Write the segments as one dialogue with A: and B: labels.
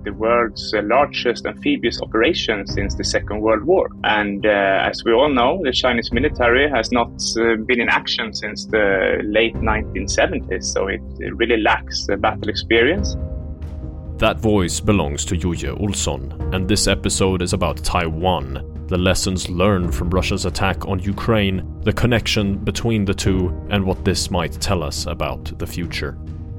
A: the world's largest amphibious operation since the Second World War. And as we all know, the Chinese military has not been in action since the late 1970s, so it really lacks battle experience.
B: That voice belongs to Jojje Olsson, and this episode is about Taiwan, the lessons learned from Russia's attack on Ukraine, the connection between the two, and what this might tell us about the future.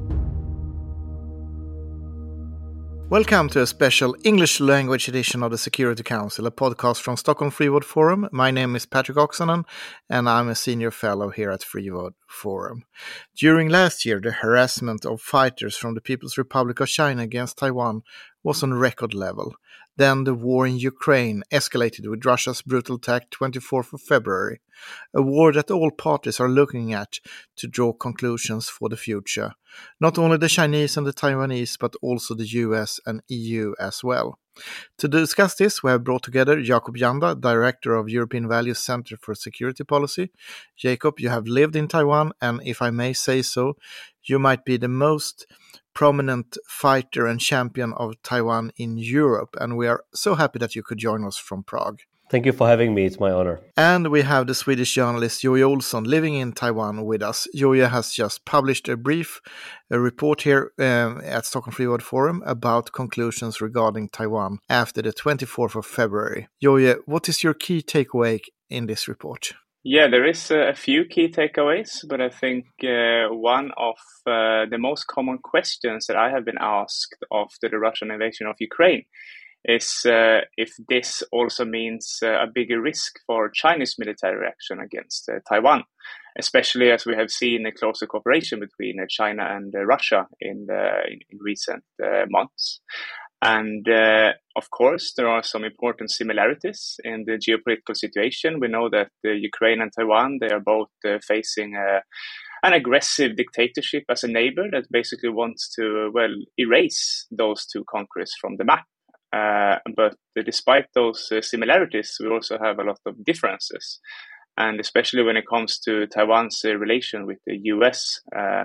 C: Welcome to a special English language edition of the Security Council, a podcast from Stockholm Free World Forum. My name is Patrick Oksanen, and I'm a senior fellow here at Free World Forum. During last year, the harassment of fighters from the People's Republic of China against Taiwan was on record level. Then the war in Ukraine escalated with Russia's brutal attack 24th of February, a war that all parties are looking at to draw conclusions for the future. Not only the Chinese and the Taiwanese, but also the US and EU as well. To discuss this, we have brought together Jakob Janda, Director of European Values Center for Security Policy. Jakob, you have lived in Taiwan, and if I may say so, you might be the most prominent fighter and champion of Taiwan in Europe, and we are so happy that you could join us from Prague.
D: Thank you for having me. It's my honor.
C: And we have the Swedish journalist Jojje Olsson living in Taiwan with us. Jojje has just published a report here at Stockholm Free World Forum about conclusions regarding Taiwan after the 24th of February. Jojje, what is your key takeaway in this report?
A: Yeah, there is a few key takeaways, but I think one of the most common questions that I have been asked after the Russian invasion of Ukraine is if this also means a bigger risk for Chinese military reaction against Taiwan, especially as we have seen a closer cooperation between China and Russia in recent months. And of course, there are some important similarities in the geopolitical situation. We know that Ukraine and Taiwan, they are both facing an aggressive dictatorship as a neighbor that basically wants to, erase those two countries from the map. But despite those similarities, we also have a lot of differences. And especially when it comes to Taiwan's relation with the US,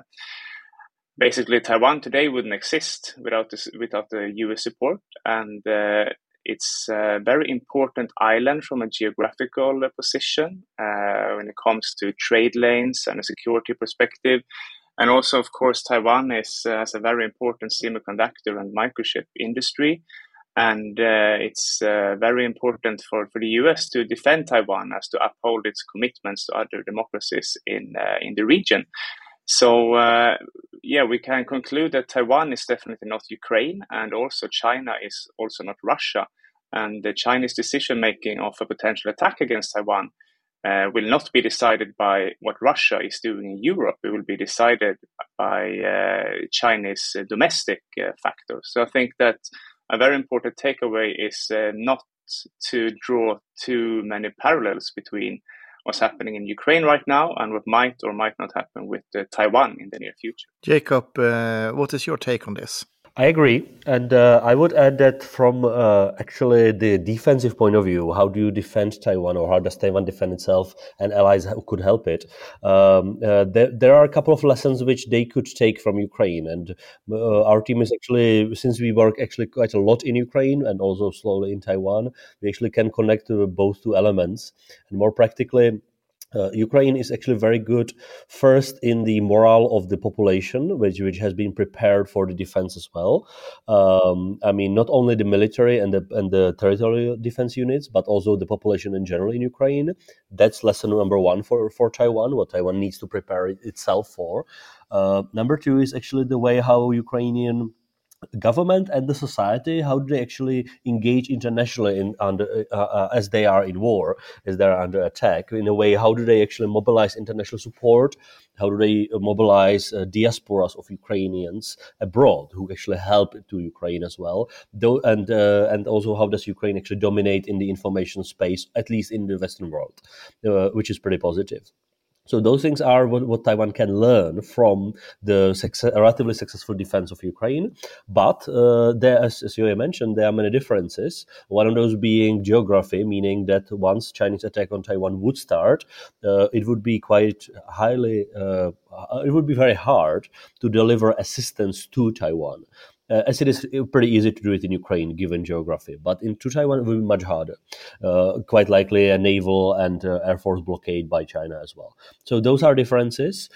A: basically, Taiwan today wouldn't exist without the US support, and it's a very important island from a geographical position when it comes to trade lanes and a security perspective. And also, of course, Taiwan has a very important semiconductor and microchip industry, and it's very important for the US to defend Taiwan as to uphold its commitments to other democracies in the region. So, we can conclude that Taiwan is definitely not Ukraine, and also China is also not Russia. And the Chinese decision-making of a potential attack against Taiwan will not be decided by what Russia is doing in Europe. It will be decided by Chinese domestic factors. So I think that a very important takeaway is not to draw too many parallels between what's happening in Ukraine right now and what might or might not happen with Taiwan in the near future.
C: Jakob, what is your take on this?
D: I agree, and I would add that from actually the defensive point of view, how do you defend Taiwan, or how does Taiwan defend itself, and allies who could help it? There are a couple of lessons which they could take from Ukraine, and our team is actually, since we work actually quite a lot in Ukraine and also slowly in Taiwan, we actually can connect both two elements, and more practically, Ukraine is actually very good first in the morale of the population, which has been prepared for the defense as well. Not only the military and the territorial defense units, but also the population in general in Ukraine. That's lesson number one for Taiwan, what Taiwan needs to prepare itself for. Number two is actually the way how Ukrainian government and the society, how do they actually engage internationally as they are in war, as they are under attack? In a way, how do they actually mobilize international support? How do they mobilize diasporas of Ukrainians abroad who actually help to Ukraine as well? And also, how does Ukraine actually dominate in the information space, at least in the Western world, which is pretty positive. So those things are what Taiwan can learn from the relatively successful defense of Ukraine. But there, as you mentioned, there are many differences. One of those being geography, meaning that once Chinese attack on Taiwan would start, it would be it would be very hard to deliver assistance to Taiwan. as it is pretty easy to do it in Ukraine, given geography. But to Taiwan, it will be much harder. Quite likely a naval and air force blockade by China as well. So those are differences.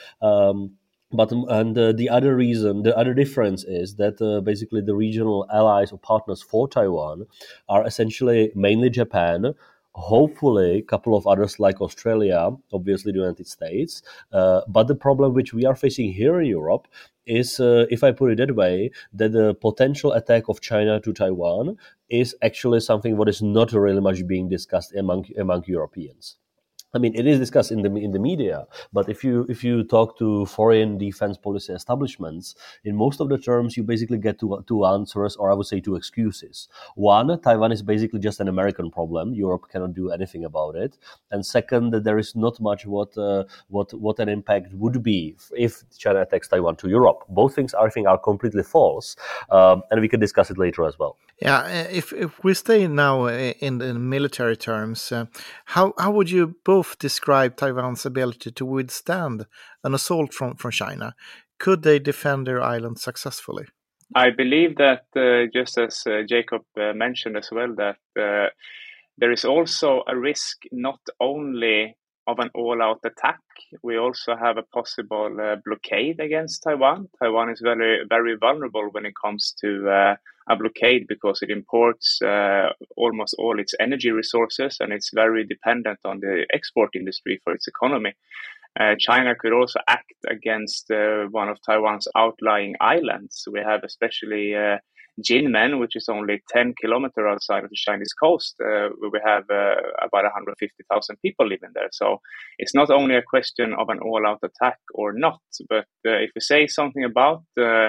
D: The other difference is that basically the regional allies or partners for Taiwan are essentially mainly Japan, hopefully a couple of others like Australia, obviously the United States. But the problem which we are facing here in Europe is, if I put it that way, that the potential attack of China to Taiwan is actually something what is not really much being discussed among Europeans. I mean, it is discussed in the media, but if you talk to foreign defense policy establishments, in most of the terms, you basically get two answers, or I would say two excuses. One, Taiwan is basically just an American problem; Europe cannot do anything about it. And second, that there is not much what an impact would be if China attacks Taiwan to Europe. Both things, I think, are completely false, and we can discuss it later as well.
C: Yeah, if we stay now in the military terms, how would you both describe Taiwan's ability to withstand an assault from China? Could they defend their island successfully?
A: I believe that, just as Jacob mentioned as well, that there is also a risk not only of an all-out attack. We also have a possible blockade against Taiwan. Taiwan is very, very vulnerable when it comes to a blockade because it imports almost all its energy resources, and it's very dependent on the export industry for its economy. China could also act against one of Taiwan's outlying islands. We have especially Jinmen, which is only 10 kilometers outside of the Chinese coast, where we have about 150,000 people living there. So it's not only a question of an all-out attack or not, but if we say something about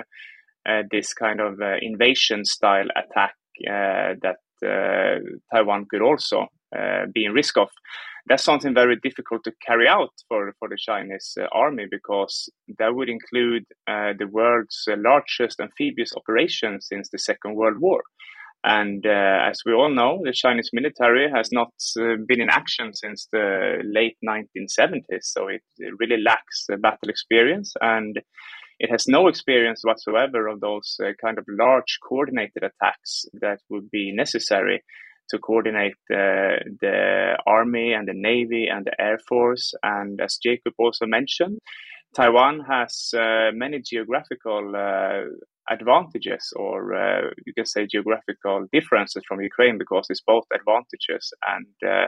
A: this kind of invasion-style attack that Taiwan could also be in risk of, that's something very difficult to carry out for the Chinese army, because that would include the world's largest amphibious operation since the Second World War. And as we all know, the Chinese military has not been in action since the late 1970s, so it really lacks battle experience, and it has no experience whatsoever of those kind of large coordinated attacks that would be necessary to coordinate the army and the navy and the air force. And as Jacob also mentioned, Taiwan has many geographical advantages, or you can say geographical differences from Ukraine, because it's both advantages and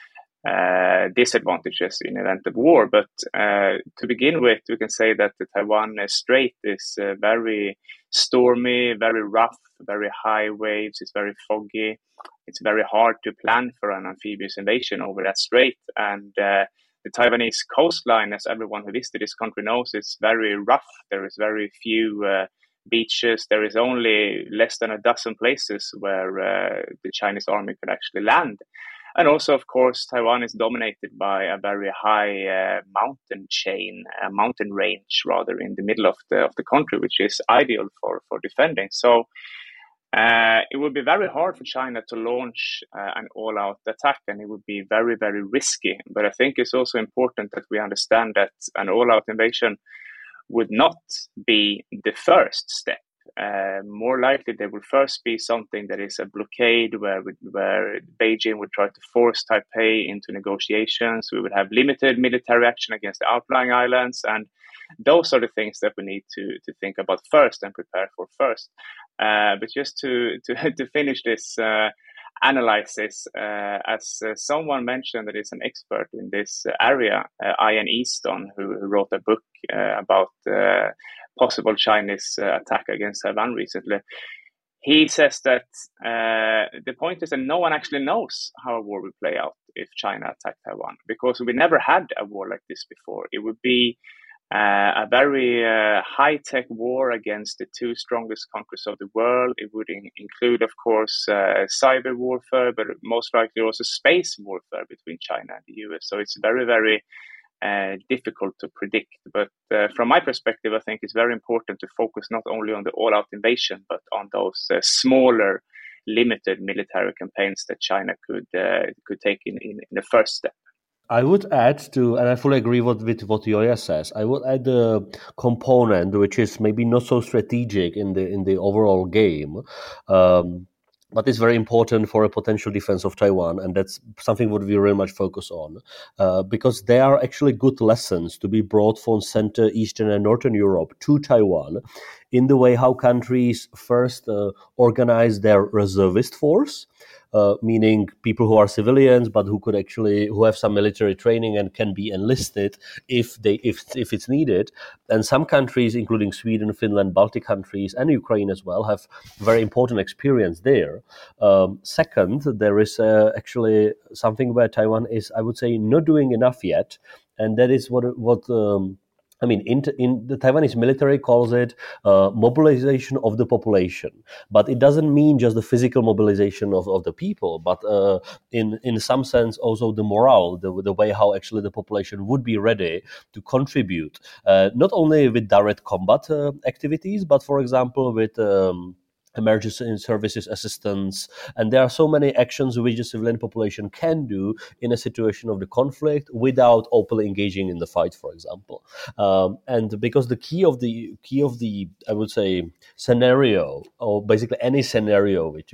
A: disadvantages in event of war. But to begin with, we can say that the Taiwan Strait is very stormy, very rough, very high waves. It's very foggy. It's very hard to plan for an amphibious invasion over that strait. And the Taiwanese coastline, as everyone who visited this country knows, is very rough. There is very few beaches. There is only less than a dozen places where the Chinese army could actually land. And also, of course, Taiwan is dominated by a very high mountain range, rather, in the middle of the country, which is ideal for defending. So it would be very hard for China to launch an all-out attack, and it would be very, very risky. But I think it's also important that we understand that an all-out invasion would not be the first step. More likely, there will first be something that is a blockade where Beijing would try to force Taipei into negotiations. We would have limited military action against the outlying islands, and those are the things that we need to think about first and prepare for first. But just to finish this analysis, as someone mentioned that is an expert in this area, Ian Easton, who wrote a book about possible Chinese attack against Taiwan recently. He says that the point is that no one actually knows how a war will play out if China attacked Taiwan, because we never had a war like this before. It would be a very high-tech war against the two strongest countries of the world. It would include, of course, cyber warfare, but most likely also space warfare between China and the US. So it's very, very difficult to predict. But from my perspective, I think it's very important to focus not only on the all-out invasion, but on those smaller, limited military campaigns that China could take in the first step.
D: I would add to, and I fully agree with what Yoya says. I would add a component which is maybe not so strategic in the overall game, but it's very important for a potential defense of Taiwan, and that's something what we very much focus on, because there are actually good lessons to be brought from Central, Eastern, and Northern Europe to Taiwan, in the way how countries first organize their reservist force. Meaning people who are civilians but who have some military training and can be enlisted if it's needed. And some countries, including Sweden, Finland, Baltic countries, and Ukraine as well, have very important experience there. Second, there is actually something where Taiwan is, I would say, not doing enough yet, and that is what I mean, in the Taiwanese military calls it mobilization of the population, but it doesn't mean just the physical mobilization of the people, but in some sense also the morale, the way how actually the population would be ready to contribute, not only with direct combat activities, but for example with emergency services assistance. And there are so many actions which the civilian population can do in a situation of the conflict without openly engaging in the fight, for example. And because the key of the I would say scenario, or basically any scenario which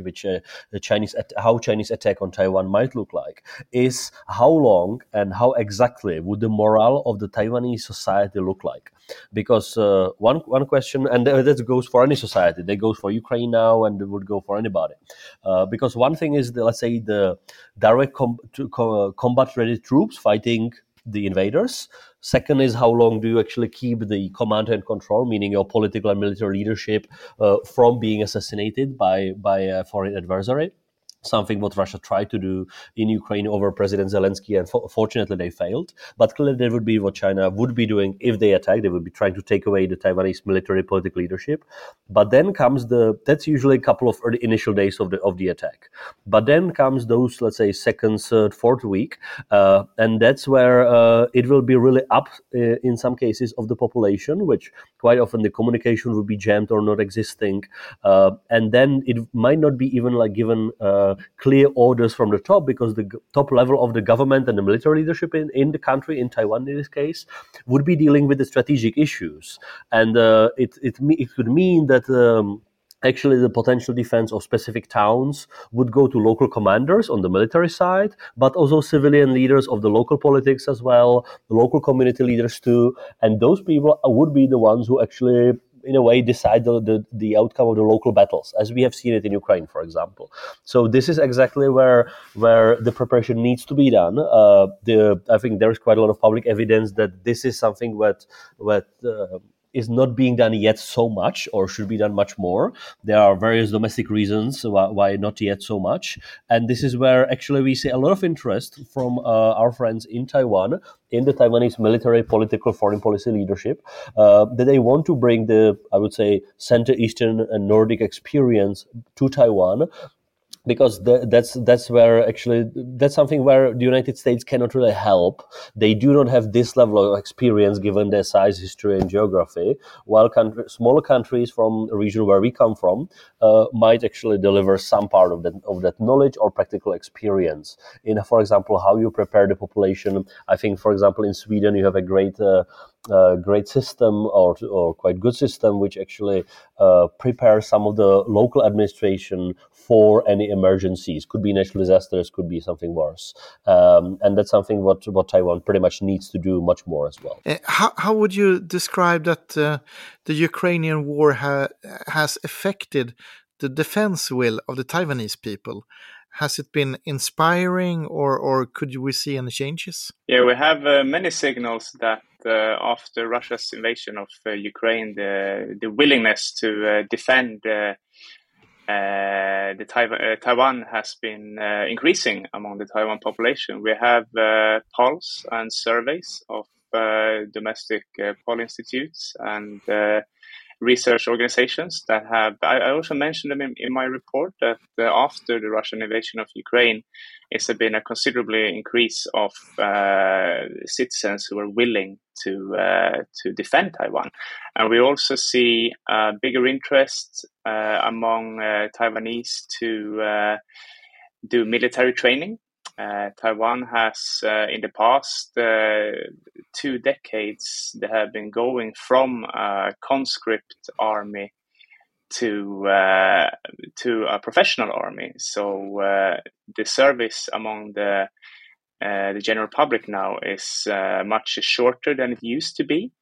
D: how Chinese attack on Taiwan might look like, is how long and how exactly would the morale of the Taiwanese society look like. Because one question, and that goes for any society, that goes for Ukraine now, and it would go for anybody. Because one thing is, let's say, the direct combat-ready troops fighting the invaders. Second is how long do you actually keep the command and control, meaning your political and military leadership, from being assassinated by a foreign adversary. Something what Russia tried to do in Ukraine over President Zelensky, and fortunately they failed. But clearly that would be what China would be doing if they attack. They would be trying to take away the Taiwanese military political leadership. But then comes that's usually a couple of initial days of the attack. But then comes those, let's say, second, third, fourth week, and that's where it will be really up in some cases of the population, which quite often the communication will be jammed or not existing, and then it might not be even like given clear orders from the top, because the top level of the government and the military leadership in the country, in Taiwan in this case, would be dealing with the strategic issues. And it could mean that actually the potential defense of specific towns would go to local commanders on the military side, but also civilian leaders of the local politics as well, the local community leaders too. And those people would be the ones who actually, in a way, decide the outcome of the local battles, as we have seen it in Ukraine, for example. So this is exactly where the preparation needs to be done. I think there is quite a lot of public evidence that this is something that is not being done yet so much, or should be done much more. There are various domestic reasons why not yet so much. And this is where actually we see a lot of interest from our friends in Taiwan, in the Taiwanese military, political, foreign policy leadership, that they want to bring the, I would say, Center, Eastern, and Nordic experience to Taiwan. Because that's where actually that's something where the United States cannot really help. They do not have this level of experience given their size, history, and geography. While smaller countries from the region where we come from might actually deliver some part of that knowledge or practical experience in, for example, how you prepare the population. I think, for example, in Sweden you have a great system or quite good system which actually prepares some of the local administration for any emergencies. Could be natural disasters, could be something worse, and that's something what Taiwan pretty much needs to do much more as well.
C: How would you describe that the Ukrainian war has affected the defense will of the Taiwanese people? Has it been inspiring, or could we see any changes?
A: Yeah, we have many signals that after Russia's invasion of Ukraine, the willingness to defend Taiwan has been increasing among the Taiwan population. We have polls and surveys of domestic poll institutes and research organizations that have. I also mentioned them in my report that after the Russian invasion of Ukraine, it's been a considerably increase of citizens who are willing to defend Taiwan, and we also see bigger interest among Taiwanese to do military training. Taiwan has, in the past 2 decades, they have been going from a conscript army to a professional army. So the service among the general public now is much shorter than it used to be.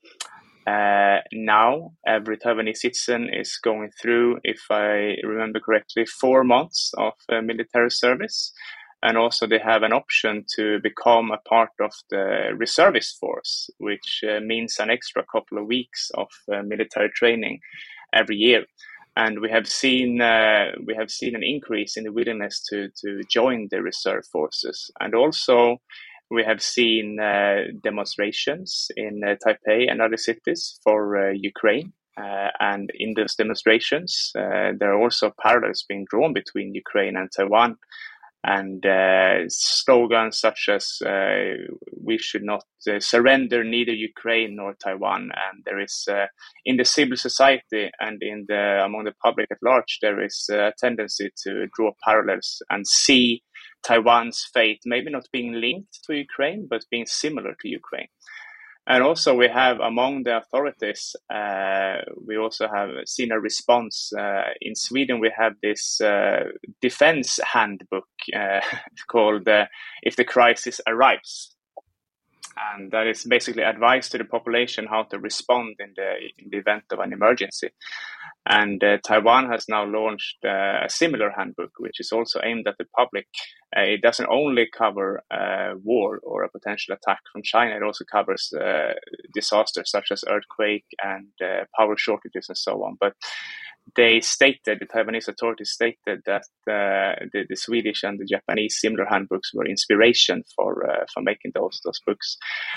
A: Now, every Taiwanese citizen is going through, if I remember correctly, 4 months of military service. And also they have an option to become a part of the reservist force, which means an extra couple of weeks of military training every year. And we have seen an increase in the willingness to join the reserve forces. And also we have seen demonstrations in Taipei and other cities for Ukraine. And in those demonstrations, there are also parallels being drawn between Ukraine and Taiwan. And slogans such as we should not surrender neither Ukraine nor Taiwan. And there is in the civil society and among the public at large, there is a tendency to draw parallels and see Taiwan's fate maybe not being linked to Ukraine, but being similar to Ukraine. And also we have among the authorities, we also have seen a response. In Sweden, we have this defense handbook called If the Crisis Arrives. And that is basically advice to the population how to respond in the event of an emergency. And Taiwan has now launched a similar handbook, which is also aimed at the public. It doesn't only cover war or a potential attack from China. It also covers disasters such as earthquake and power shortages and so on. But the Taiwanese authorities stated that the Swedish and the Japanese similar handbooks were inspiration for making those books.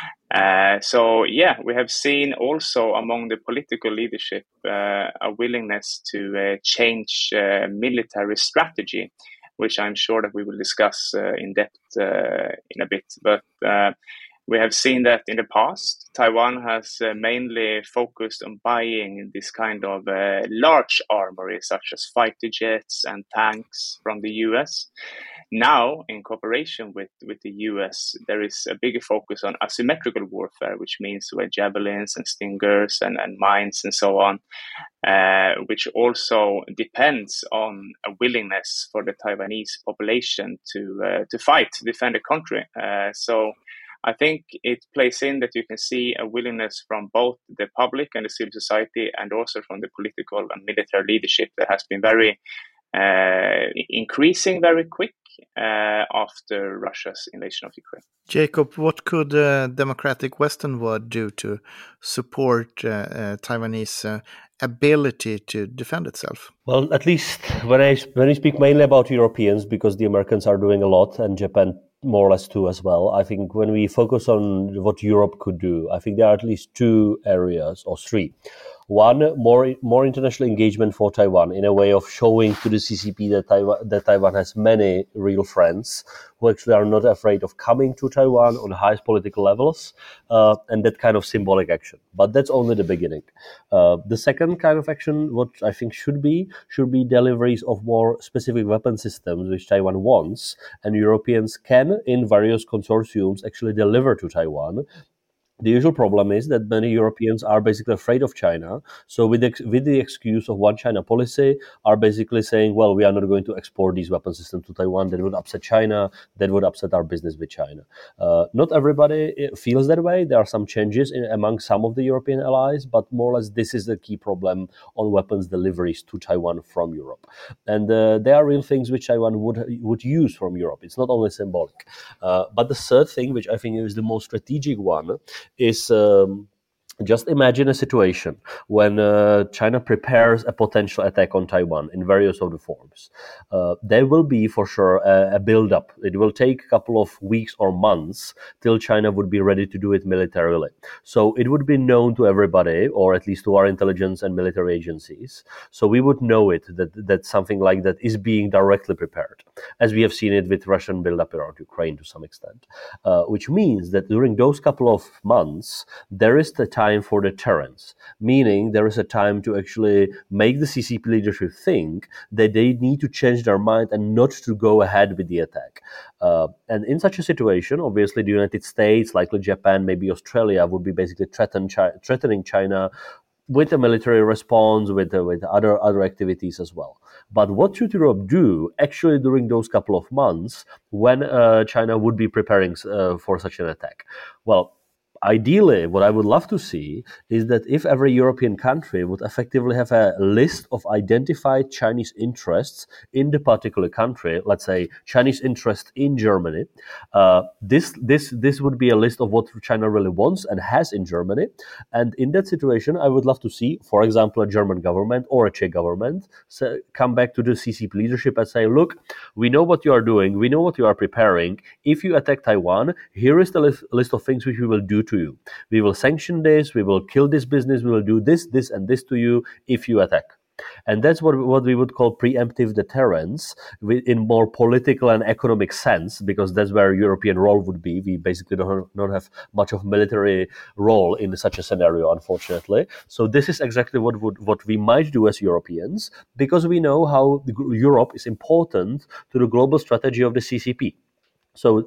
A: So we have seen also among the political leadership a willingness to change military strategy, which I'm sure that we will discuss in depth in a bit. But we have seen that in the past, Taiwan has mainly focused on buying this kind of large armory, such as fighter jets and tanks from the US. Now, in cooperation with the US, there is a bigger focus on asymmetrical warfare, which means javelins and stingers and mines and so on, which also depends on a willingness for the Taiwanese population to fight, to defend the country. So I think it plays in that you can see a willingness from both the public and the civil society, and also from the political and military leadership that has been very increasing very quick after Russia's invasion of Ukraine.
C: Jacob, what could the democratic Western world do to support Taiwanese ability to defend itself?
D: Well, at least when I speak mainly about Europeans, because the Americans are doing a lot and Japan more or less too as well. I think when we focus on what Europe could do, I think there are at least 2 areas or 3. One, more international engagement for Taiwan, in a way of showing to the CCP that Taiwan has many real friends who actually are not afraid of coming to Taiwan on the highest political levels, and that kind of symbolic action. But that's only the beginning. The second kind of action, what I think should be deliveries of more specific weapon systems which Taiwan wants, and Europeans can, in various consortiums, actually deliver to Taiwan. The usual problem is that many Europeans are basically afraid of China. So with the excuse of one China policy, are basically saying, well, we are not going to export these weapon systems to Taiwan. That would upset China. That would upset our business with China. Not everybody feels that way. There are some changes among some of the European allies, but more or less this is the key problem on weapons deliveries to Taiwan from Europe. And there are real things which Taiwan would use from Europe. It's not only symbolic. But the third thing, which I think is the most strategic one, is just imagine a situation when China prepares a potential attack on Taiwan in various of the forms. There will be for sure a build-up. It will take a couple of weeks or months till China would be ready to do it militarily. So it would be known to everybody, or at least to our intelligence and military agencies. So we would know it, that something like that is being directly prepared, as we have seen it with Russian build-up around Ukraine to some extent. Which means that during those couple of months, there is the time time for deterrence, meaning there is a time to actually make the CCP leadership think that they need to change their mind and not to go ahead with the attack. And in such a situation, obviously, the United States, likely Japan, maybe Australia, would be basically threatening China with a military response, with other activities as well. But what should Europe do actually during those couple of months when China would be preparing for such an attack? Well, ideally, what I would love to see is that if every European country would effectively have a list of identified Chinese interests in the particular country, let's say Chinese interest in Germany, this would be a list of what China really wants and has in Germany. And in that situation, I would love to see, for example, a German government or a Czech government come back to the CCP leadership and say, look, we know what you are doing, we know what you are preparing. If you attack Taiwan, here is the list of things which we will do to you. We will sanction this, we will kill this business, we will do this, and this to you if you attack. And that's what we would call preemptive deterrence in more political and economic sense, because that's where European role would be. We basically don't have much of military role in such a scenario, unfortunately. So this is exactly what we might do as Europeans, because we know how Europe is important to the global strategy of the CCP. So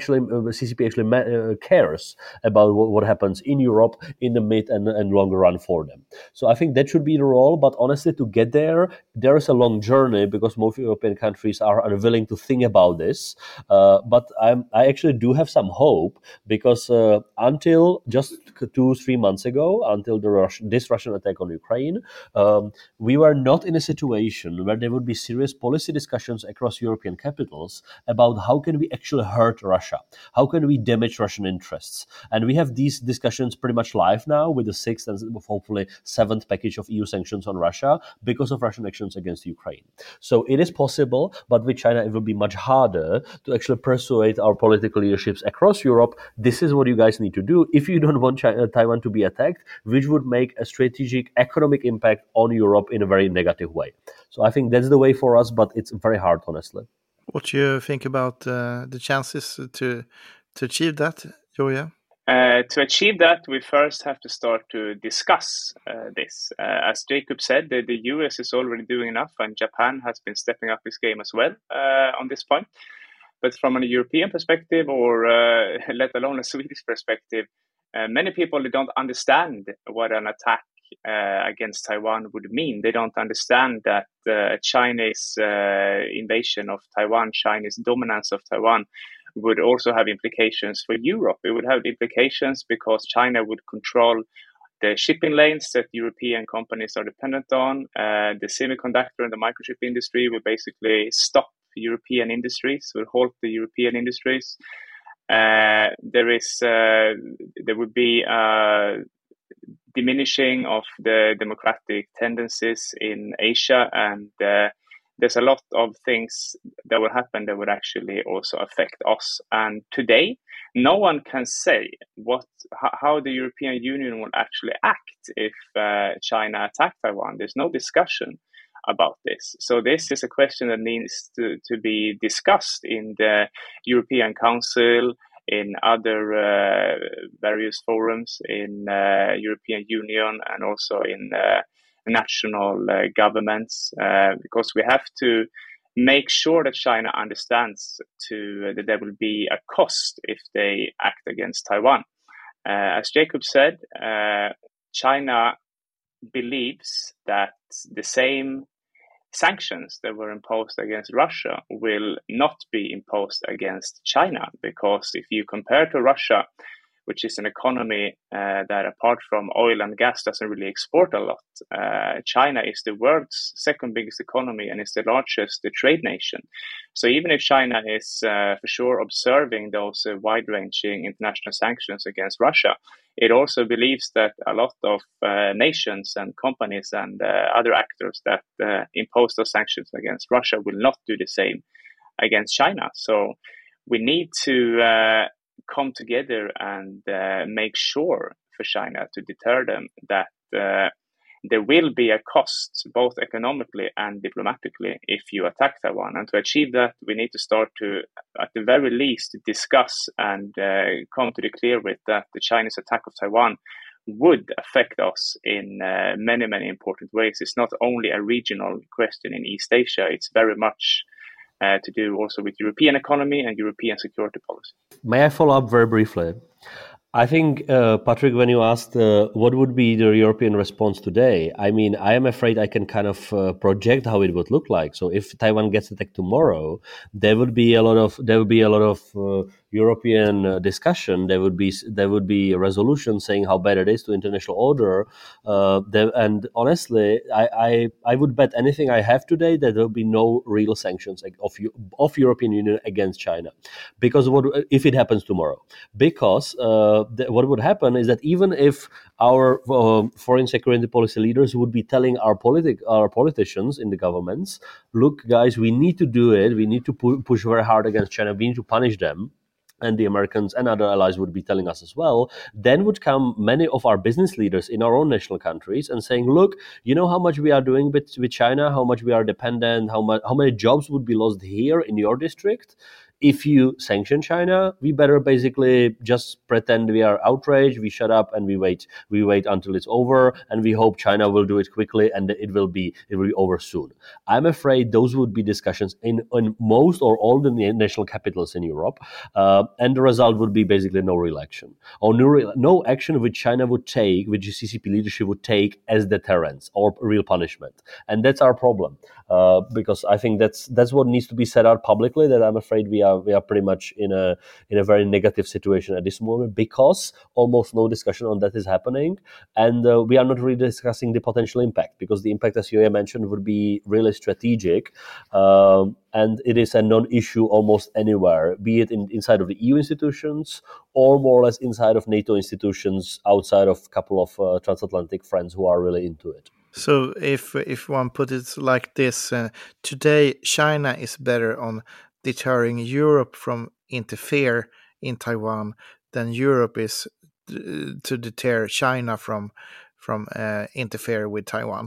D: CCP actually cares about what happens in Europe in the mid and longer run for them. So I think that should be the role. But honestly, to get there is a long journey, because most European countries are unwilling to think about this. But I actually do have some hope, because until just 2-3 months ago, until this Russian attack on Ukraine, we were not in a situation where there would be serious policy discussions across European capitals about how can we actually hurt Russia, how can we damage Russian interests. And we have these discussions pretty much live now with the 6th and hopefully 7th package of EU sanctions on Russia because of Russian actions against Ukraine. So it is possible, but with China it will be much harder to actually persuade our political leaderships across Europe, this is what you guys need to do if you don't want Taiwan to be attacked, which would make a strategic economic impact on Europe in a very negative way. So I think that's the way for us, but it's very hard, honestly.
C: What do you think about the chances to achieve that, Joja?
A: To achieve that, we first have to start to discuss this. As Jacob said, the US is already doing enough, and Japan has been stepping up its game as well on this point. But from a European perspective, or let alone a Swedish perspective, many people don't understand what an attack against Taiwan would mean. They don't understand that Chinese invasion of Taiwan, Chinese dominance of Taiwan, would also have implications for Europe. It would have implications because China would control the shipping lanes that European companies are dependent on. The semiconductor and the microchip industry will basically stop European industries, will halt the European industries. There would be diminishing of the democratic tendencies in Asia, and there's a lot of things that will happen that would actually also affect us. And today, no one can say how the European Union will actually act if China attacked Taiwan. There's no discussion about this. So this is a question that needs to be discussed in the European Council, in other various forums in European Union, and also in national governments, because we have to make sure that China understands that there will be a cost if they act against Taiwan. As Jacob said, China believes that the same sanctions that were imposed against Russia will not be imposed against China, because if you compare to Russia, which is an economy that apart from oil and gas doesn't really export a lot, China is the world's second biggest economy and is the largest trade nation. So even if China is for sure observing those wide-ranging international sanctions against Russia, it also believes that a lot of nations and companies and other actors that impose those sanctions against Russia will not do the same against China. So we need to come together and make sure for China to deter them that there will be a cost, both economically and diplomatically, if you attack Taiwan. And to achieve that, we need to start to, at the very least, discuss and come to the clear with that the Chinese attack of Taiwan would affect us in many, many important ways. It's not only a regional question in East Asia, it's very much to do also with European economy and European security policy.
D: May I follow up very briefly? I think, Patrick, when you asked what would be the European response today, I mean, I am afraid I can kind of project how it would look like. So if Taiwan gets attacked tomorrow, there would be a lot of European discussion. There would be a resolution saying how bad it is to international order. And honestly, I would bet anything I have today that there will be no real sanctions of European Union against China, because if it happens tomorrow? Because what would happen is that even if our foreign security policy leaders would be telling our politicians in the governments, look, guys, we need to do it. We need to push very hard against China. We need to punish them. And the Americans and other allies would be telling us as well, then would come many of our business leaders in our own national countries and saying, look, you know how much we are doing with China, how much we are dependent, how many jobs would be lost here in your district. If you sanction China, we better basically just pretend we are outraged, we shut up and we wait until it's over, and we hope China will do it quickly and it will be over soon. I'm afraid those would be discussions in most or all the national capitals in Europe, and the result would be basically no real action, or no action which China would take, which the CCP leadership would take as deterrence or real punishment. And that's our problem, because I think that's what needs to be said out publicly, that I'm afraid we are pretty much in a very negative situation at this moment, because almost no discussion on that is happening, and we are not really discussing the potential impact, because the impact, as you mentioned, would be really strategic, and it is a non-issue almost anywhere, be it inside of the EU institutions or more or less inside of NATO institutions, outside of a couple of transatlantic friends who are really into it.
C: So if one put it like this, today China is better on deterring Europe from interfere in Taiwan than Europe is to deter China from interfere with Taiwan.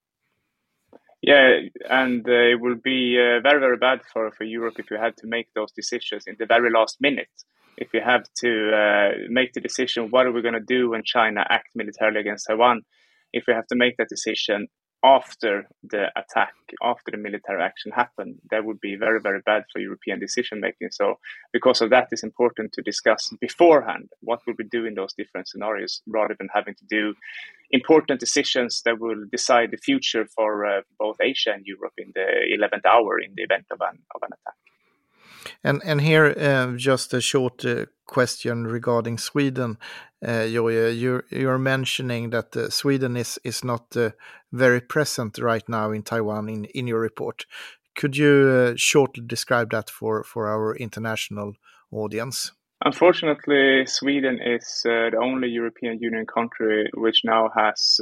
A: Yeah, and it will be very, very bad for Europe if you had to make those decisions in the very last minute. If you have to make the decision, what are we going to do when China acts militarily against Taiwan? If we have to make that decision after the attack, after the military action happened, that would be very, very bad for European decision making. So because of that, it's important to discuss beforehand what will we do in those different scenarios, rather than having to do important decisions that will decide the future for both Asia and Europe in the 11th hour in the event of an attack.
C: And here, just a short question regarding Sweden. You're mentioning that Sweden is not very present right now in Taiwan in your report. Could you shortly describe that for our international audience?
A: Unfortunately, Sweden is the only European Union country which now has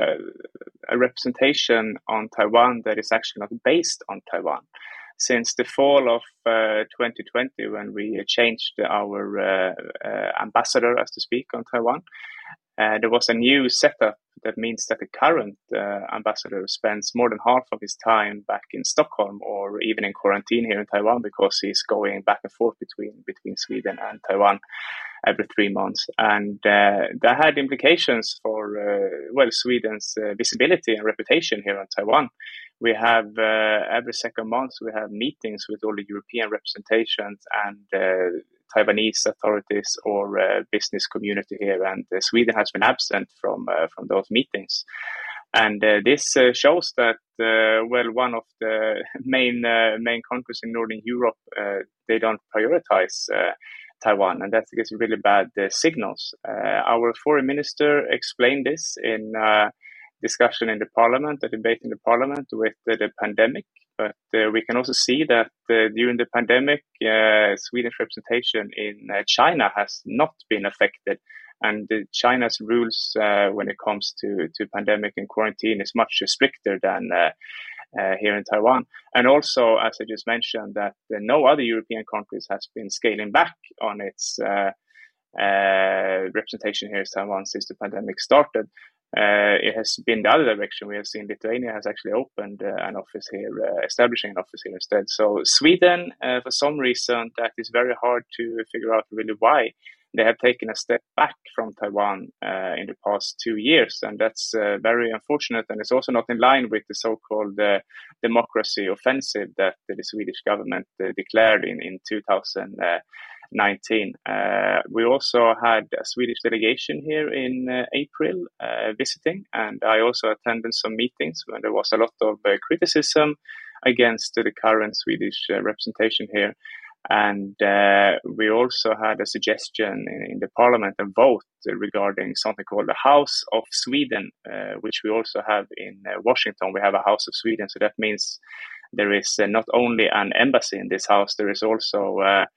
A: a representation on Taiwan that is actually not based on Taiwan. Since the fall of 2020, when we changed our ambassador, as to speak, on Taiwan, there was a new setup that means that the current ambassador spends more than half of his time back in Stockholm, or even in quarantine here in Taiwan, because he's going back and forth between Sweden and Taiwan every 3 months. And that had implications for Sweden's visibility and reputation here in Taiwan. We have every second month we have meetings with all the European representations and Taiwanese authorities or business community here, and Sweden has been absent from those meetings. And this shows that one of the main countries in Northern Europe, they don't prioritize Taiwan, and that gives really bad signals. Our foreign minister explained this in discussion in the parliament, a debate in the parliament with the pandemic. But we can also see that during the pandemic, Swedish representation in China has not been affected. And China's rules when it comes to pandemic and quarantine is much stricter than here in Taiwan. And also, as I just mentioned, that no other European countries has been scaling back on its representation here in Taiwan since the pandemic started. It has been the other direction. We have seen Lithuania has actually opened an office here, establishing an office here instead. So Sweden, for some reason that is very hard to figure out really why, they have taken a step back from Taiwan in the past 2 years, and that's very unfortunate. And it's also not in line with the so-called democracy offensive that the Swedish government declared in 2019. We also had a Swedish delegation here in April visiting, and I also attended some meetings when there was a lot of criticism against the current Swedish representation here. And we also had a suggestion in the parliament and vote regarding something called the House of Sweden, which we also have in Washington. We have a House of Sweden. So that means there is not only an embassy in this house, there is also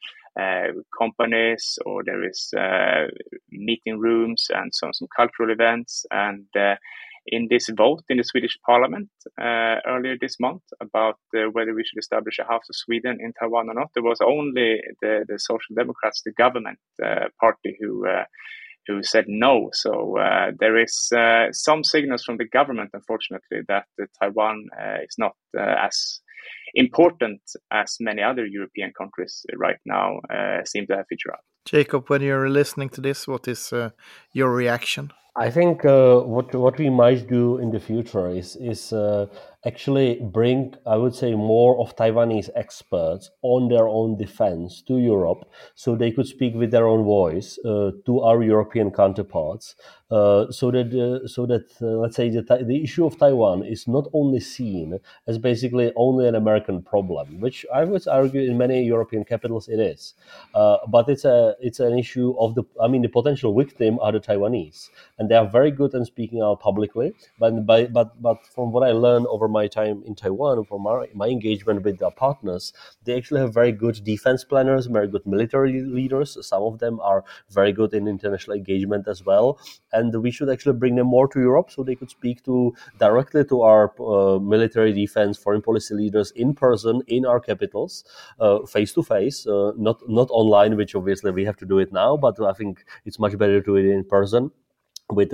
A: companies, or there is meeting rooms and some cultural events. And in this vote in the Swedish parliament earlier this month about whether we should establish a House of Sweden in Taiwan or not, there was only the Social Democrats, the government party, who said no. So there is some signals from the government, unfortunately, that Taiwan is not as important as many other European countries right now seem to have figured out.
C: Jacob, when you're listening to this, what is your reaction?
D: I think what we might do in the future is actually bring, I would say, more of Taiwanese experts on their own defense to Europe, so they could speak with their own voice to our European counterparts, so that let's say the issue of Taiwan is not only seen as basically only an American problem, which I would argue in many European capitals it is, but it's an issue of the potential victim are the Taiwanese. And they are very good in speaking out publicly. But from what I learned over my time in Taiwan, from my engagement with their partners, they actually have very good defense planners, very good military leaders. Some of them are very good in international engagement as well. And we should actually bring them more to Europe so they could speak directly to our military, defense, foreign policy leaders in person in our capitals, face to face, not online, which obviously we have to do it now. But I think it's much better to do it in person with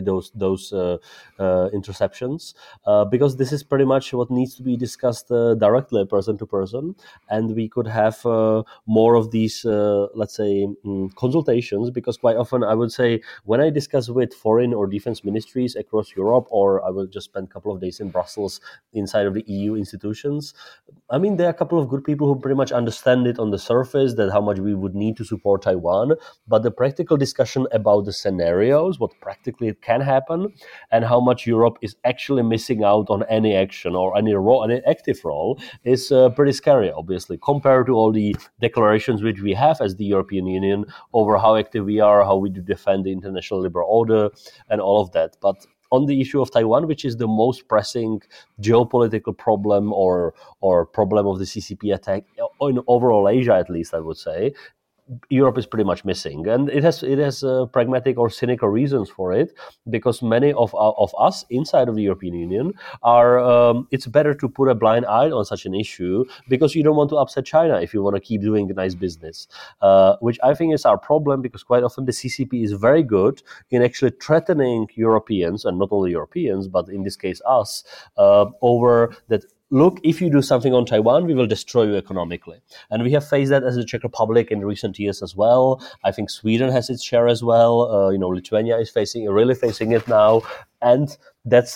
D: those interceptions, because this is pretty much what needs to be discussed directly, person to person, and we could have more of these let's say consultations, because quite often I would say when I discuss with foreign or defense ministries across Europe, or I will just spend a couple of days in Brussels inside of the EU institutions, there are a couple of good people who pretty much understand it on the surface, that how much we would need to support Taiwan, but the practical discussion about the scenarios, what practically it can happen, and how much Europe is actually missing out on any action or any active role is pretty scary, obviously, compared to all the declarations which we have as the European Union over how active we are, how we do defend the international liberal order, and all of that. But on the issue of Taiwan, which is the most pressing geopolitical problem or problem of the CCP attack in overall Asia, at least I would say, Europe is pretty much missing, and it has pragmatic or cynical reasons for it, because many of us inside of the European Union are. It's better to put a blind eye on such an issue because you don't want to upset China if you want to keep doing nice business, which I think is our problem, because quite often the CCP is very good in actually threatening Europeans, and not only Europeans, but in this case us, over that. Look, if you do something on Taiwan, we will destroy you economically. And we have faced that as the Czech Republic in recent years as well. I think Sweden has its share as well. Lithuania is really facing it now. And that's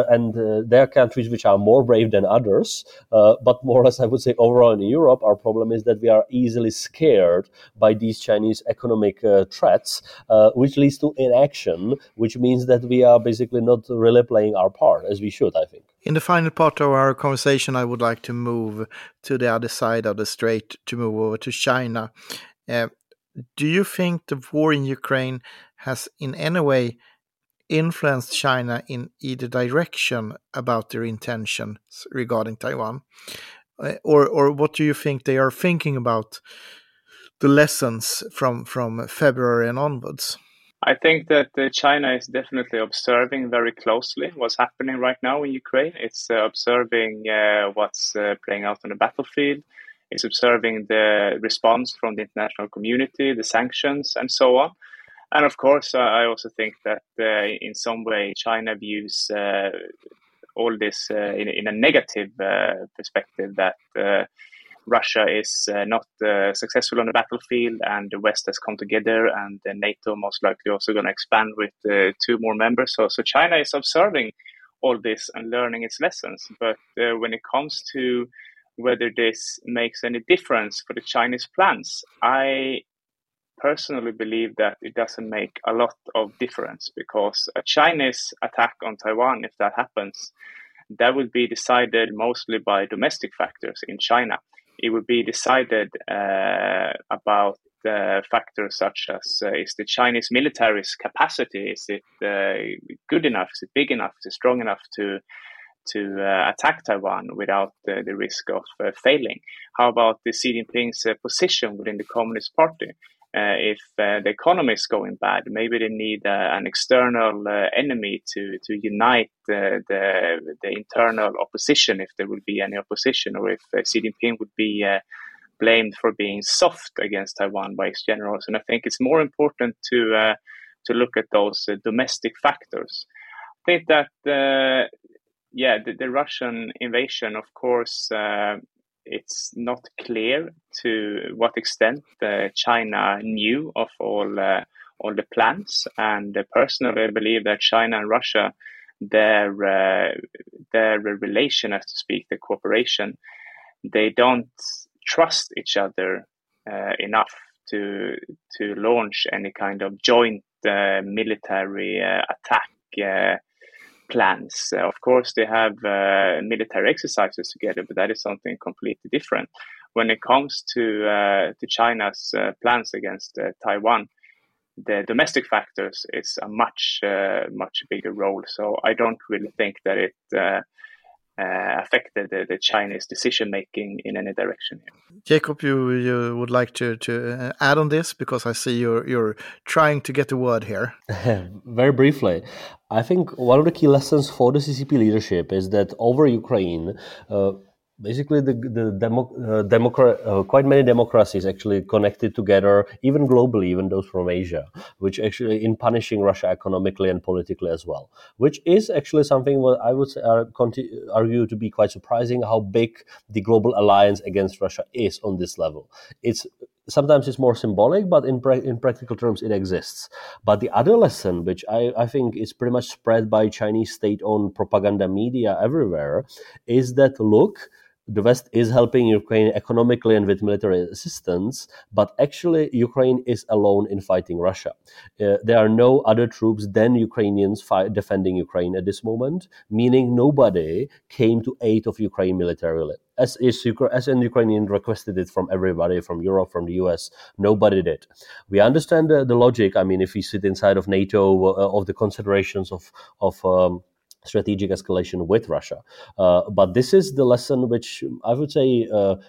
D: there are countries which are more brave than others. But more or less, I would say overall in Europe, our problem is that we are easily scared by these Chinese economic threats, which leads to inaction, which means that we are basically not really playing our part as we should, I think.
C: In the final part of our conversation, I would like to move to the other side of the strait, to move over to China. Do you think the war in Ukraine has in any way influenced China in either direction about their intentions regarding Taiwan? Or what do you think they are thinking about the lessons from February and onwards?
A: I think that China is definitely observing very closely what's happening right now in Ukraine. It's observing what's playing out on the battlefield. It's observing the response from the international community, the sanctions, and so on. And of course, I also think that in some way China views all this in a negative perspective, that Russia is not successful on the battlefield, and the West has come together, and NATO most likely also going to expand with 2 more members. So China is observing all this and learning its lessons. But when it comes to whether this makes any difference for the Chinese plans, I personally believe that it doesn't make a lot of difference, because a Chinese attack on Taiwan, if that happens, that would be decided mostly by domestic factors in China. It would be decided about factors such as is the Chinese military's capacity, is it good enough, is it big enough, is it strong enough to attack Taiwan without the risk of failing? How about the Xi Jinping's position within the Communist Party? If the economy is going bad, maybe they need an external enemy to unite the internal opposition, if there will be any opposition, or if Xi Jinping would be blamed for being soft against Taiwan by his generals. And I think it's more important to look at those domestic factors. I think that the Russian invasion, of course, it's not clear to what extent China knew of all the plans. And personally, I believe that China and Russia, their relation, as to speak, the cooperation, they don't trust each other enough to launch any kind of joint military attack plans. Of course, they have military exercises together, but that is something completely different. When it comes to China's plans against Taiwan, the domestic factors is a much bigger role. So I don't really think that it affected the Chinese decision making in any direction here.
C: Jacob, you would like to add on this, because I see you're trying to get a word here.
D: Very briefly, I think one of the key lessons for the CCP leadership is that over Ukraine, basically quite many democracies actually connected together, even globally, even those from Asia, which actually in punishing Russia economically and politically as well, which is actually something what I would say, argue to be quite surprising, how big the global alliance against Russia is on this level. Sometimes it's more symbolic, but in practical terms, it exists. But the other lesson, which I think is pretty much spread by Chinese state-owned propaganda media everywhere, is that, look, the West is helping Ukraine economically and with military assistance, but actually Ukraine is alone in fighting Russia. There are no other troops than Ukrainians defending Ukraine at this moment, meaning nobody came to aid of Ukraine militarily. As an Ukrainian requested it from everybody, from Europe, from the US, nobody did. We understand the logic. I mean, if we sit inside of NATO, of the considerations of strategic escalation with Russia. But this is the lesson which I would say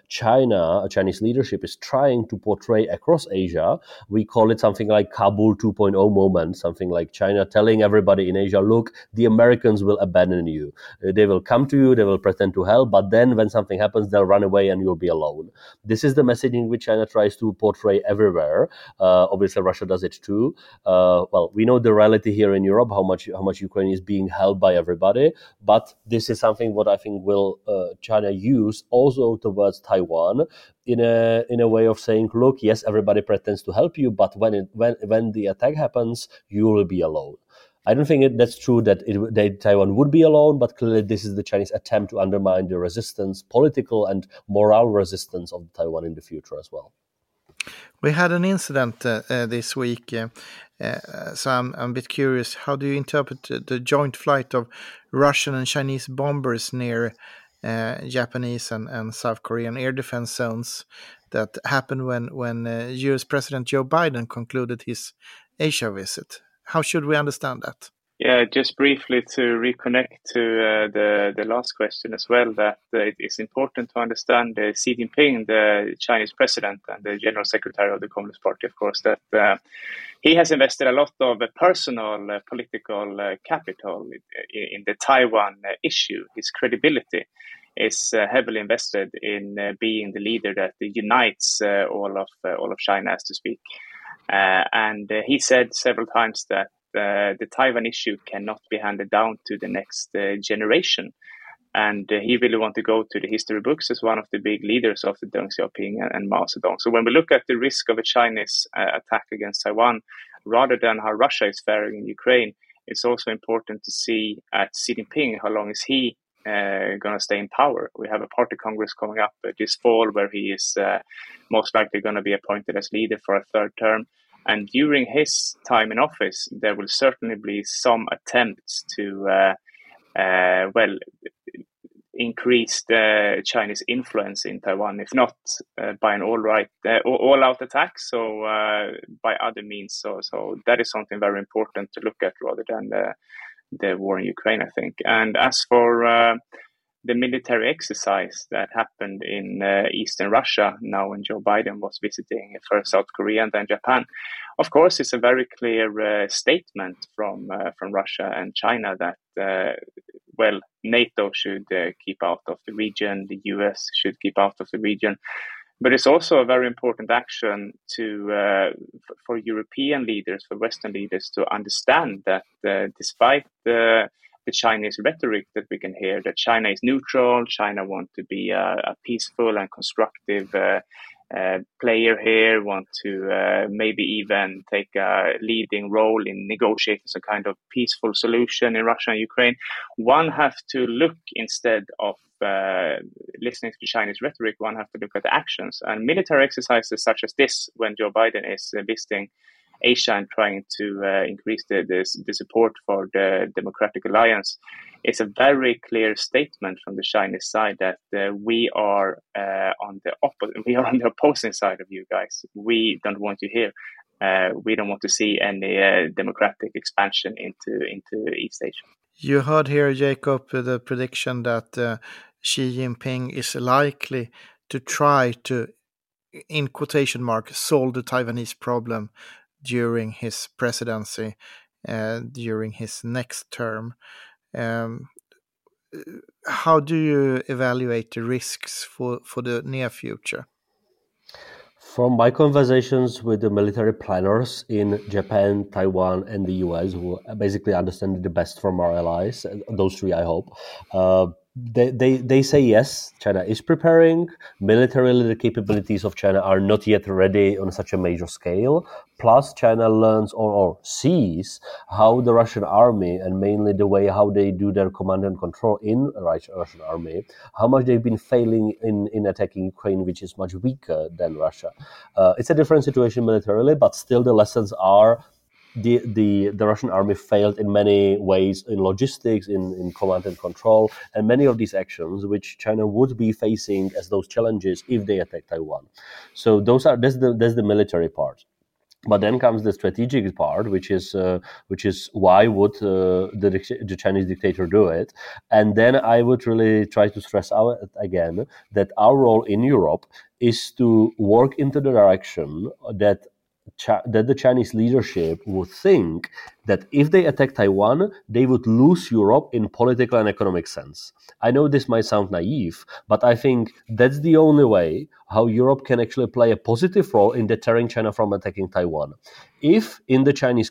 D: Chinese leadership is trying to portray across Asia. We call it something like Kabul 2.0 moment, something like China telling everybody in Asia, look, the Americans will abandon you. They will come to you, they will pretend to help, but then when something happens, they'll run away and you'll be alone. This is the messaging which China tries to portray everywhere. Obviously, Russia does it too. Well, we know the reality here in Europe, how much Ukraine is being held by everybody, but this is something what I think will China use also towards Taiwan in a way of saying, look, yes, everybody pretends to help you, but when the attack happens, you will be alone. I don't think that's true that Taiwan would be alone, but clearly this is the Chinese attempt to undermine the resistance, political and moral resistance of Taiwan in the future as well.
C: We had an incident this week, so I'm a bit curious. How do you interpret the joint flight of Russian and Chinese bombers near Japanese and South Korean air defense zones that happened when U.S. President Joe Biden concluded his Asia visit? How should we understand that?
A: Yeah, just briefly to reconnect to the last question as well, that it is important to understand Xi Jinping, the Chinese president and the general secretary of the Communist Party, of course, that he has invested a lot of personal political capital in the Taiwan issue. His credibility is heavily invested in being the leader that unites all of China, as to speak. And he said several times that the Taiwan issue cannot be handed down to the next generation. And he really want to go to the history books as one of the big leaders of the Deng Xiaoping and Mao Zedong. So when we look at the risk of a Chinese attack against Taiwan, rather than how Russia is faring in Ukraine, it's also important to see at Xi Jinping, how long is he going to stay in power. We have a party congress coming up this fall where he is most likely going to be appointed as leader for a third term. And during his time in office, there will certainly be some attempts to, increase the Chinese influence in Taiwan, if not by an all-out attack, so by other means. So that is something very important to look at rather than the war in Ukraine, I think. And as for the military exercise that happened in eastern Russia now when Joe Biden was visiting first South Korea and then Japan, of course, it's a very clear statement from Russia and China that NATO should keep out of the region, the US should keep out of the region. But it's also a very important action for European leaders, for Western leaders, to understand that despite the Chinese rhetoric that we can hear, that China is neutral, China wants to be a peaceful and constructive player here, want to maybe even take a leading role in negotiating some kind of peaceful solution in Russia and Ukraine. One have to look, instead of listening to Chinese rhetoric, one have to look at the actions. And military exercises such as this, when Joe Biden is visiting Asia and trying to increase the support for the Democratic Alliance, it's a very clear statement from the Chinese side that we are on the opposing side of you guys. We don't want you here. We don't want to see any democratic expansion into East Asia.
C: You heard here, Jacob, the prediction that Xi Jinping is likely to try to, in quotation marks, solve the Taiwanese problem during his presidency, during his next term. How do you evaluate the risks for the near future?
D: From my conversations with the military planners in Japan, Taiwan, and the US, who basically understand it the best from our allies, those three, I hope, they say yes, China is preparing. Militarily, the capabilities of China are not yet ready on such a major scale. Plus, China learns or sees how the Russian army, and mainly the way how they do their command and control in the Russian army, how much they've been failing in attacking Ukraine, which is much weaker than Russia. It's a different situation militarily, but still the lessons are the Russian army failed in many ways in logistics, in command and control, and many of these actions which China would be facing as those challenges if they attack Taiwan. So that's the military part. But then comes the strategic part, which is why would the Chinese dictator do it? And then I would really try to stress out again that our role in Europe is to work into the direction that the Chinese leadership would think that if they attack Taiwan, they would lose Europe in political and economic sense. I know this might sound naive, but I think that's the only way how Europe can actually play a positive role in deterring China from attacking Taiwan. If in the Chinese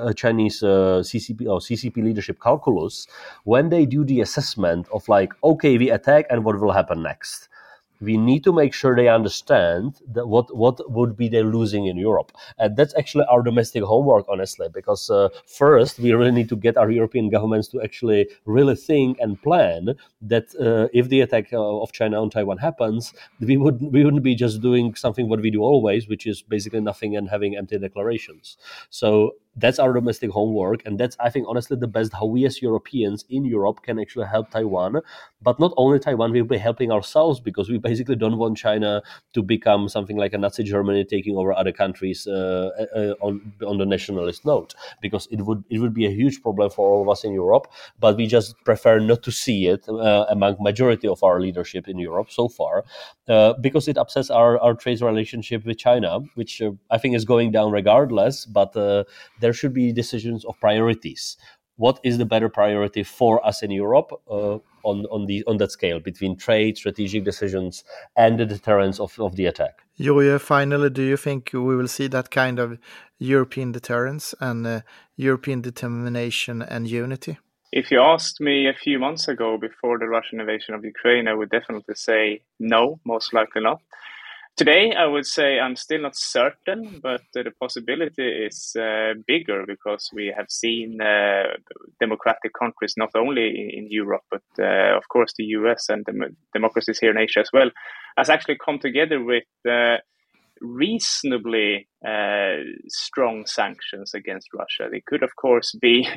D: CCP or CCP leadership calculus, when they do the assessment of like, okay, we attack and what will happen next, we need to make sure they understand that what would be they losing in Europe. And that's actually our domestic homework, honestly, because first, we really need to get our European governments to actually really think and plan that if the attack of China on Taiwan happens, we wouldn't be just doing something what we do always, which is basically nothing and having empty declarations. So that's our domestic homework, and that's, I think, honestly, the best how we as Europeans in Europe can actually help Taiwan. But not only Taiwan, we'll be helping ourselves, because we basically don't want China to become something like a Nazi Germany taking over other countries on the nationalist note, because it would be a huge problem for all of us in Europe. But we just prefer not to see it among majority of our leadership in Europe so far, because it upsets our trade relationship with China, which I think is going down regardless. But there should be decisions of priorities. What is the better priority for us in Europe on that scale between trade, strategic decisions, and the deterrence of the attack?
C: Joje, finally, do you think we will see that kind of European deterrence and European determination and unity?
A: If you asked me a few months ago before the Russian invasion of Ukraine, I would definitely say no, most likely not. Today, I would say I'm still not certain, but the possibility is bigger because we have seen democratic countries, not only in Europe, but of course the US and democracies here in Asia as well, has actually come together with reasonably strong sanctions against Russia. They could, of course,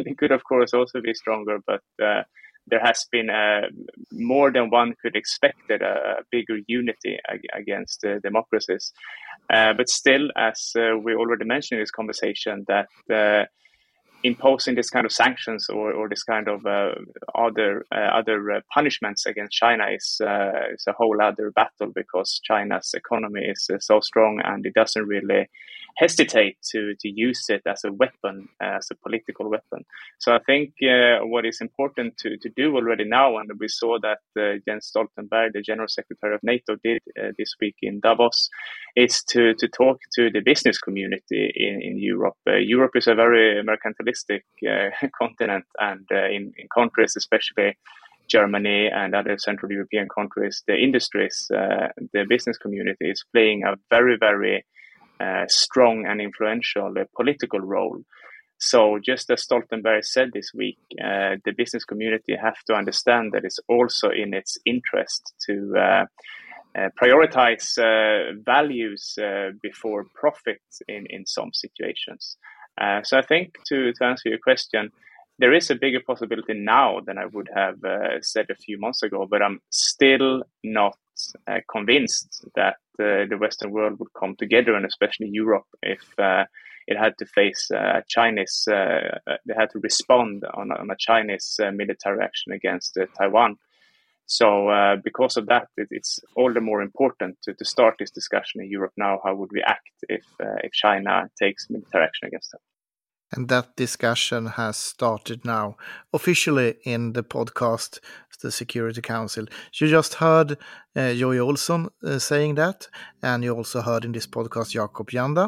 A: also be stronger, but there has been more than one could expected a bigger unity against democracies. But still, as we already mentioned in this conversation, that imposing this kind of sanctions or this kind of other punishments against China is a whole other battle, because China's economy is so strong and it doesn't really hesitate to use it as a weapon, as a political weapon. So I think what is important to do already now, and we saw that Jens Stoltenberg, the General Secretary of NATO, did this week in Davos, is to talk to the business community in Europe. Europe is a very mercantilistic continent, and in countries, especially Germany and other Central European countries, the industries, the business community is playing a very, very strong and influential political role. So just as Stoltenberg said this week, the business community have to understand that it's also in its interest to prioritize values before profit in some situations. So I think to answer your question, there is a bigger possibility now than I would have said a few months ago, but I'm still not convinced that the Western world would come together, and especially Europe, if it had to face Chinese, they had to respond on a Chinese military action against Taiwan. So because of that, it's all the more important to start this discussion in Europe now. How would we act if China takes military action against them?
C: And that discussion has started now officially in the podcast, the Security Council. You just heard Jojje Olsson saying that, and you also heard in this podcast Jakob Janda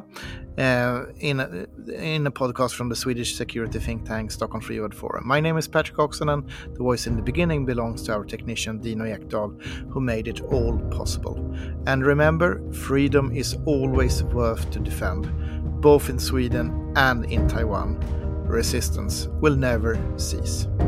C: in a podcast from the Swedish security think tank Stockholm Free World Forum. My name is Patrick Oksanen. The voice in the beginning belongs to our technician Dino Ekdahl, who made it all possible. And remember, freedom is always worth to defend. Both in Sweden and in Taiwan, resistance will never cease.